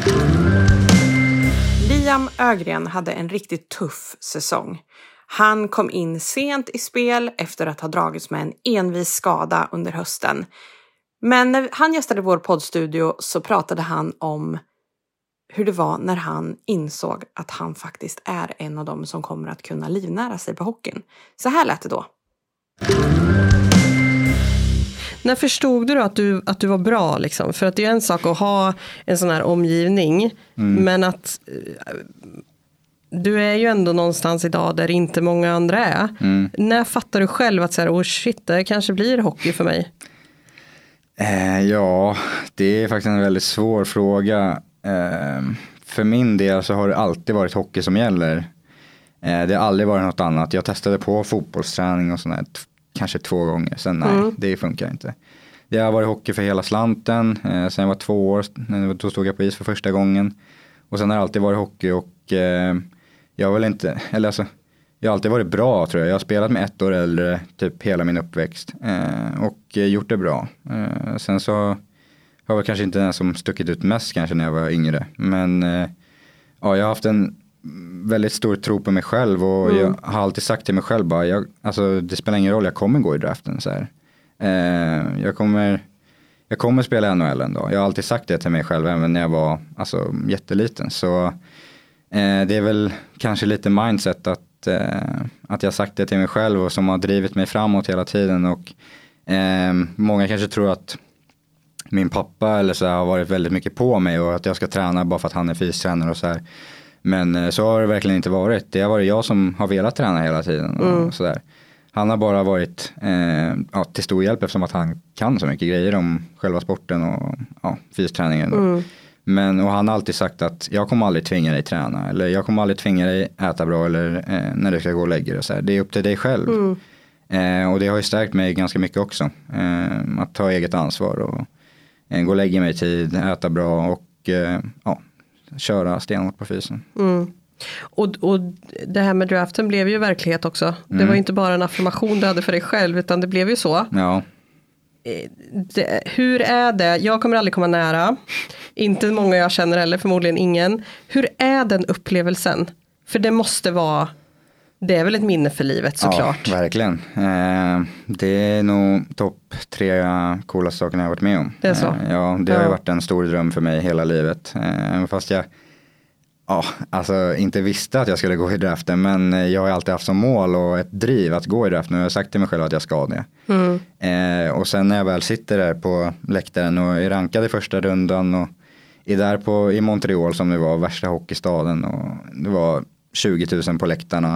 Liam Ögren hade en riktigt tuff säsong. Han kom in sent i spel efter att ha dragits med en envis skada under hösten. Men när han gästade vår poddstudio så pratade han om hur det var när han insåg att han faktiskt är en av dem som kommer att kunna livnära sig på hockeyn. Så här lät det då. När förstod du då att du, att du var bra liksom? För att det är en sak att ha en sån här omgivning. Mm. Men att du är ju ändå någonstans idag där inte många andra är. Mm. När fattar du själv att så här, oh shit, det kanske blir hockey för mig? Eh, ja, det är faktiskt en väldigt svår fråga. Eh, för min del så har det alltid varit hockey som gäller. Eh, det har aldrig varit något annat. Jag testade på fotbollsträning och sånt där kanske två gånger. Sen nej, mm. det funkar inte. Det har varit hockey för hela slanten. Eh, sen jag var två år, då stod jag på is för första gången. Och sen har det alltid varit hockey och eh, jag vill inte, eller alltså, jag har alltid varit bra tror jag. Jag har spelat med ett år äldre typ hela min uppväxt eh, och eh, gjort det bra. Eh, sen så har jag kanske inte den som stuckit ut mest kanske när jag var yngre. Men eh, ja, jag har haft en väldigt stor tro på mig själv och mm. jag har alltid sagt till mig själv bara, jag, alltså, det spelar ingen roll, jag kommer gå i draften så här. Eh, jag kommer jag kommer spela N H L en dag. Jag har alltid sagt det till mig själv även när jag var alltså, jätteliten. Så eh, det är väl kanske lite mindset att, eh, att jag sagt det till mig själv och som har drivit mig framåt hela tiden. Och eh, många kanske tror att min pappa eller så har varit väldigt mycket på mig och att jag ska träna bara för att han är fystränare och så här. Men eh, så har det verkligen inte varit. Det har varit jag som har velat träna hela tiden och, Mm. och så där. Han har bara varit eh, ja, till stor hjälp eftersom att han kan så mycket grejer om själva sporten och ja, fysträningen. Mm. Men, och han har alltid sagt att jag kommer aldrig tvinga dig träna. Eller jag kommer aldrig tvinga dig äta bra eller eh, när du ska gå och lägga dig. Och så här. Det är upp till dig själv. Mm. Eh, och det har ju stärkt mig ganska mycket också. Eh, att ta eget ansvar och eh, gå och lägga mig i tid, äta bra och eh, ja, köra stenhårt på fysen. Mm. Och, och det här med draften blev ju verklighet också. Mm. Det var ju inte bara en affirmation du hade för dig själv utan det blev ju så. Ja. Det, hur är det? Jag kommer aldrig komma nära. Inte många jag känner heller, förmodligen ingen. Hur är den upplevelsen? För det måste vara, det är väl ett minne för livet såklart. Ja, verkligen. Eh, det är nog topp tre coolaste sakerna jag har varit med om. Det är så? Eh, ja, det har Ja. ju varit en stor dröm för mig hela livet. Eh, fast jag ja, alltså inte visste att jag skulle gå i draften, men jag har alltid haft som mål och ett driv att gå i draften och jag har sagt till mig själv att jag ska det. Mm. Eh, och sen när jag väl sitter där på läktaren och är rankad i första rundan och är där på, i Montreal som det var värsta hockeystaden och det var tjugo tusen på läktarna.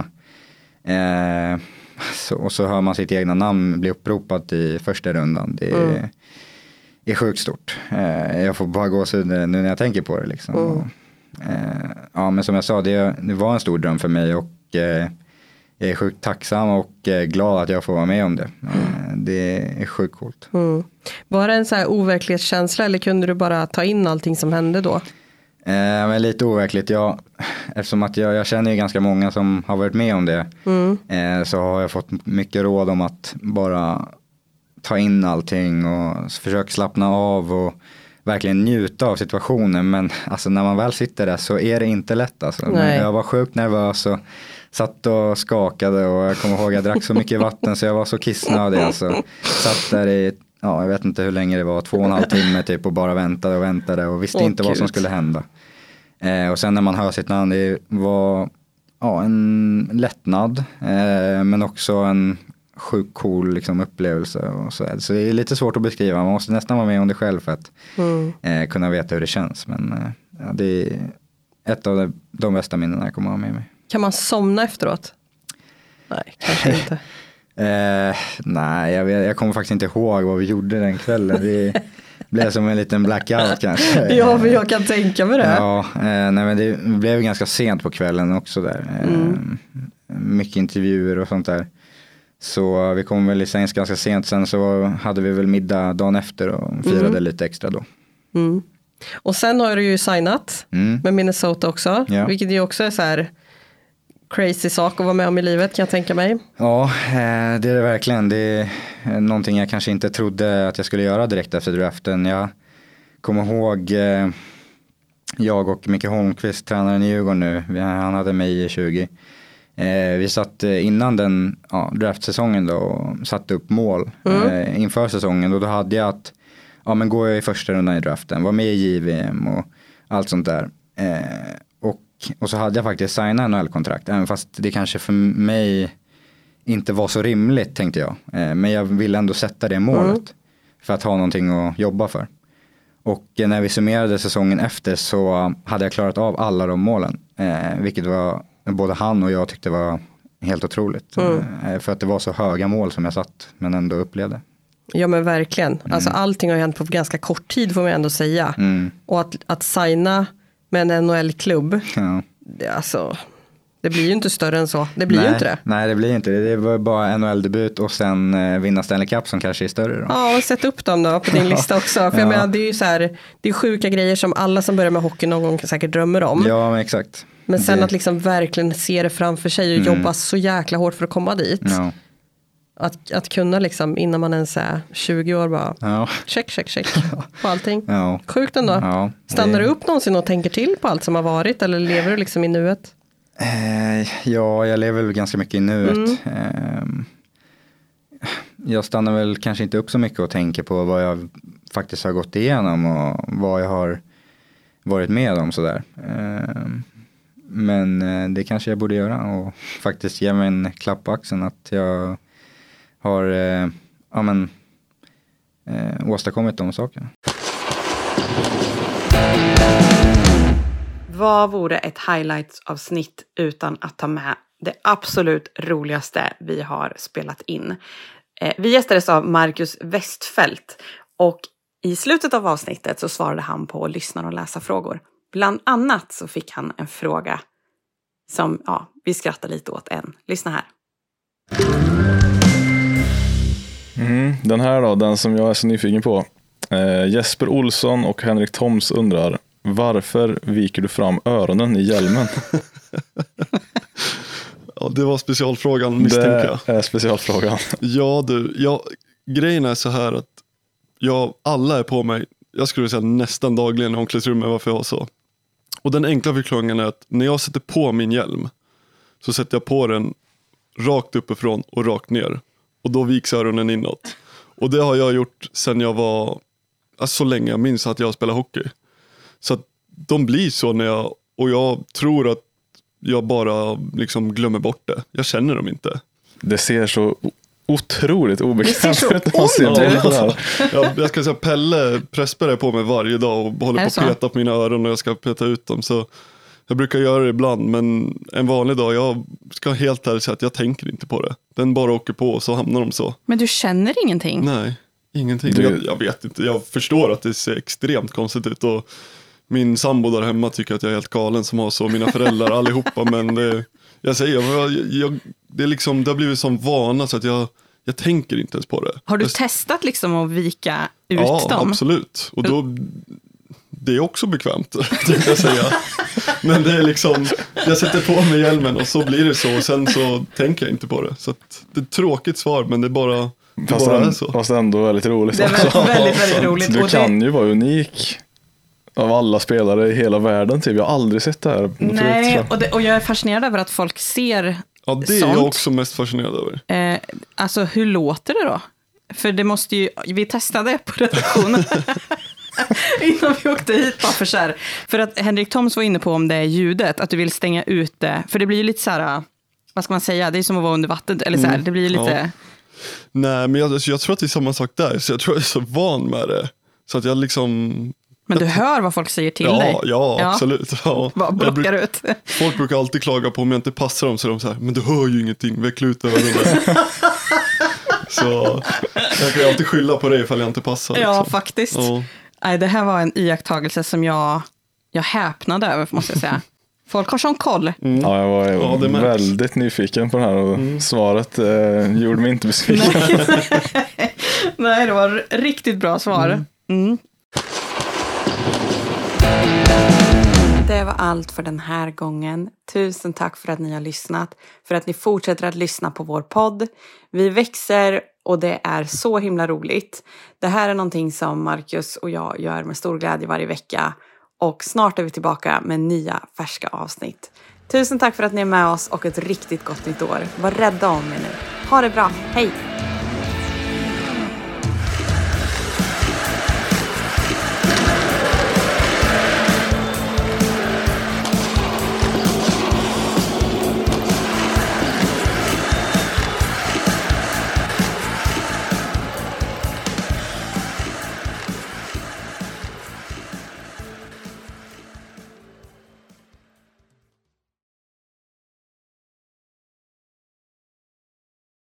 Eh, så, och så hör man sitt egna namn bli uppropat i första rundan. Det är, Mm. är sjukt stort. Eh, jag får bara gå så nu när jag tänker på det liksom. Mm. Och, eh, ja, men som jag sa, det, det var en stor dröm för mig och eh, jag är sjukt tacksam och eh, glad att jag får vara med om det. Eh, det är sjukt coolt. Mm. Var det en så här overklighetskänsla eller kunde du bara ta in allting som hände då? Eh, men lite overkligt. Jag, eftersom att jag, jag känner ju ganska många som har varit med om det. Mm. Eh, så har jag fått mycket råd om att bara ta in allting och försöka slappna av och verkligen njuta av situationen. Men alltså, när man väl sitter där så är det inte lätt. Alltså. Men jag var sjukt nervös och satt och skakade och jag kommer ihåg jag drack så mycket vatten så jag var så kissnödig. Alltså. Satt där i, ja, jag vet inte hur länge det var, två och en halv timme typ och bara väntade och väntade och visste Åh, inte vad Gud. som skulle hända. Eh, och sen när man hör sitt namn, det var ja, en lättnad eh, men också en sjukt cool liksom, upplevelse. Och så, så det är lite svårt att beskriva, man måste nästan vara med om det själv för att Mm. eh, kunna veta hur det känns. Men eh, ja, det är ett av de, de bästa minnena jag kommer ha med mig. Kan man somna efteråt? Nej, kanske inte. Eh, nej, jag, vet, jag kommer faktiskt inte ihåg vad vi gjorde den kvällen. Vi blev som en liten blackout kanske. Ja, men jag kan tänka mig det. Ja, eh, nej, men det blev ganska sent på kvällen också där. Eh, Mm. Mycket intervjuer och sånt där. Så vi kom väl i sängs ganska sent. Sen så hade vi väl middag dagen efter och firade Mm. lite extra då. Mm. Och sen har du ju signat Mm. med Minnesota också. Ja. Vilket ju också är så här crazy sak att vara med om i livet, kan jag tänka mig. Ja, eh, det är det verkligen. Det är någonting jag kanske inte trodde att jag skulle göra direkt efter draften. Jag kommer ihåg eh, jag och Micke Holmqvist, tränaren i Djurgården nu. Vi, han hade mig i tjugo. Eh, vi satt eh, innan den ja, draftsäsongen då och satte upp mål Mm. eh, inför säsongen. Och då hade jag att ja, men går jag i första rundan i draften, var med i J V M och allt sånt där. Eh, och, och så hade jag faktiskt signat N H L-kontrakt, även fast det kanske för mig inte var så rimligt tänkte jag. Eh, men jag ville ändå sätta det målet Mm. för att ha någonting att jobba för. Och eh, när vi summerade säsongen efter så hade jag klarat av alla de målen. Eh, vilket var, både han och jag tyckte var helt otroligt. Mm. Eh, för att det var så höga mål som jag satt men ändå upplevde. Ja, men verkligen. Alltså allting har ju hänt på ganska kort tid får man ändå säga. Mm. Och att, att signa med en N H L-klubb, Ja. det, alltså, det blir ju inte större än så. Det blir nej, ju inte det. Nej, det blir inte det. Det var bara N H L-debut och sen eh, vinna Stanley Cup som kanske är större då. Ja, och sätt upp dem då på din lista också. För jag Ja. menar, det är ju så här, det är sjuka grejer som alla som börjar med hockey någon gång säkert drömmer om. Ja, men exakt. Men sen det, att liksom verkligen se det framför sig och Mm. jobba så jäkla hårt för att komma dit. Ja. Att, att kunna liksom innan man ens är tjugo år bara Ja. check, check, check på allting. Ja. Sjukt ändå. Ja, Stannar det- du upp någonsin och tänker till på allt som har varit eller lever du liksom i nuet? Eh, ja, jag lever väl ganska mycket i nuet. Mm. Eh, jag stannar väl kanske inte upp så mycket och tänker på vad jag faktiskt har gått igenom och vad jag har varit med om sådär. Eh, men eh, det kanske jag borde göra och faktiskt ge mig en klapp på axeln att jag har eh, ja, men, eh, åstadkommit de sakerna. Vad vore ett highlights-avsnitt utan att ta med det absolut roligaste vi har spelat in? Eh, vi gästades av Marcus Westfeldt och i slutet av avsnittet så svarade han på lyssnar- och läsarfrågor. Bland annat så fick han en fråga som ja, vi skrattar lite åt än. Lyssna här. Mm, den här då, den som jag är så nyfiken på. Eh, Jesper Olsson och Henrik Toms undrar: varför viker du fram öronen i hjälmen? Ja, det var specialfrågan, misstänker jag. Det är specialfrågan. Ja, du. Ja, grejen är så här att jag, alla är på mig, jag skulle säga nästan dagligen i omklädningsrummet, varför jag har så. Och den enkla förklaringen är att när jag sätter på min hjälm så sätter jag på den rakt uppifrån och rakt ner. Och då viks öronen inåt. Och det har jag gjort sedan jag var, alltså så länge jag minns att jag spelar hockey. Så att de blir så när jag, och jag tror att jag bara liksom glömmer bort det. Jag känner dem inte. Det ser så otroligt obekvämt ut när man ser det på det här. Ja, jag ska säga, Pelle Pressberg är på mig varje dag och håller på att peta på mina öron och jag ska peta ut dem. Så jag brukar göra det ibland, men en vanlig dag, jag ska helt ärligt säga att jag tänker inte på det. Den bara åker på och så hamnar de så. Men du känner ingenting? Nej, ingenting. Du... Jag, jag vet inte, jag förstår att det ser extremt konstigt ut och min sambo där hemma tycker att jag är helt galen som har så, mina föräldrar allihopa, men det, jag säger, jag, jag, det, är liksom, det har blivit som vana så att jag, jag tänker inte ens på det. Har du jag, testat liksom att vika ut ja, dem? Ja, absolut. Och då, det är också bekvämt, tänkte jag säga. Men det är liksom, jag sätter på mig hjälmen och så blir det så och sen så tänker jag inte på det. Så att, det är ett tråkigt svar, men det är bara, det fast, bara en, är så. Fast ändå väldigt roligt. Det är väldigt, väldigt, väldigt roligt. Du och kan det... ju vara unik av alla spelare i hela världen. Typ. Jag har aldrig sett det här. Nej, förut, och, det, och jag är fascinerad över att folk ser ja, det är sånt. jag också mest fascinerad över. Eh, alltså, hur låter det då? För det måste ju, vi testade på redaktionen innan vi åkte hit bara för så här. För att Henrik Toms var inne på om det är ljudet, att du vill stänga ut det. För det blir ju lite så här, vad ska man säga, det är som att vara under vattnet. Eller så här, det blir ju lite... Ja. Nej, men jag, alltså, jag tror att det är samma sak där. Så jag tror jag är så van med det. Så att jag liksom... Men du hör vad folk säger till ja, dig. Ja, ja, absolut. Ja. Vad blockar bruk, ut? Folk brukar alltid klaga på om jag inte passar dem, så är de så här, men du hör ju ingenting, veckla ut öronen. Så jag kan ju alltid skylla på dig ifall jag inte passar. Ja, liksom. faktiskt. Ja. Nej, det här var en iakttagelse som jag, jag häpnade över, måste jag säga. Folk har sån koll. Mm. Ja, jag var ja, väldigt nyfiken på det här och mm. svaret eh, gjorde mig inte besviken. Nej. Nej, det var riktigt bra svar. Mm. Mm. Det var allt för den här gången. Tusen tack för att ni har lyssnat. För att ni fortsätter att lyssna på vår podd. Vi växer och det är så himla roligt. Det här är någonting som Marcus och jag gör med stor glädje varje vecka. Och snart är vi tillbaka med nya färska avsnitt. Tusen tack för att ni är med oss och ett riktigt gott nytt år. Var rädda om er nu. Ha det bra. Hej!